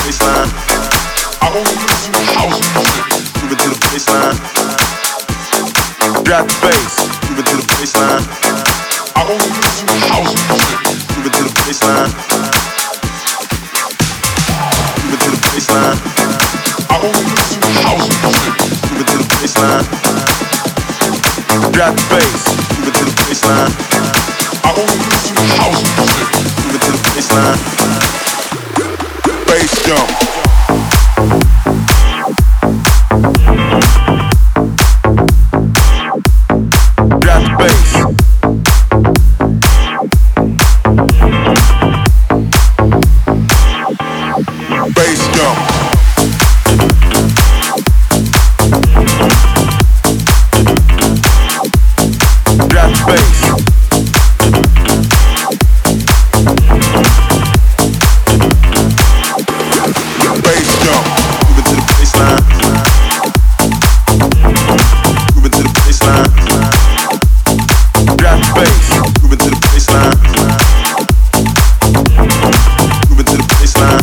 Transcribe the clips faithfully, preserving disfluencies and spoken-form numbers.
baseline. I only listen to house music. Move it to the baseline. Drop the bass. Move it to the baseline. I only listen to house music. Move it to the baseline. Move it to the baseline. I only listen to house music. Move it to the baseline. Drop the bass. Move it to the baseline. I only listen to house music. Move it to the baseline. Bass jump. Drop the bass. Bass jump. Drop the bass. Bass jump. Move it to the baseline. Move it to the baseline. Drop the bass. Move it to the baseline. Move it to the baseline.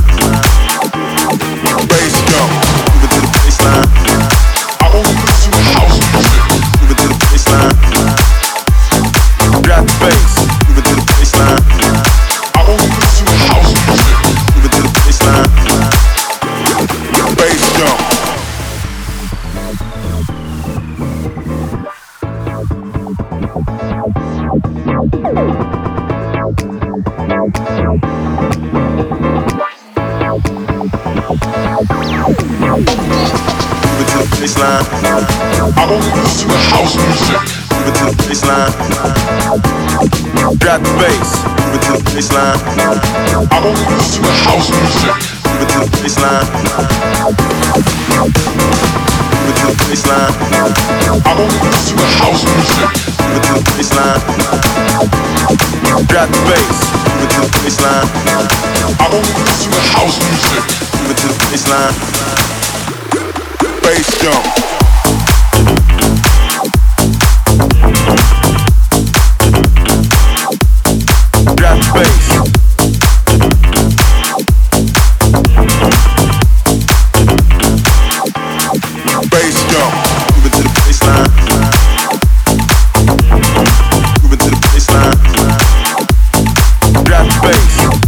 Bass jump. Move it to the baseline. I only listen to house music. Move it to the baseline. Drop the bass. Move it to the baseline. I only listen to house music. Move it to the baseline. Bass jump. Move it to the baseline. I only listen to house music. Move it to the baseline. Drop the bass. Move it to the baseline. I only listen to house music. Move it to the baseline. Move it to the baseline. I only listen to house music. Move it to the baseline. Drop the bass. Move it to the baseline. I only listen to house music. Move it to the baseline. Bass jump. Drop the bass. Bass jump. Move it to the baseline. Move it to the baseline. Drop the bass.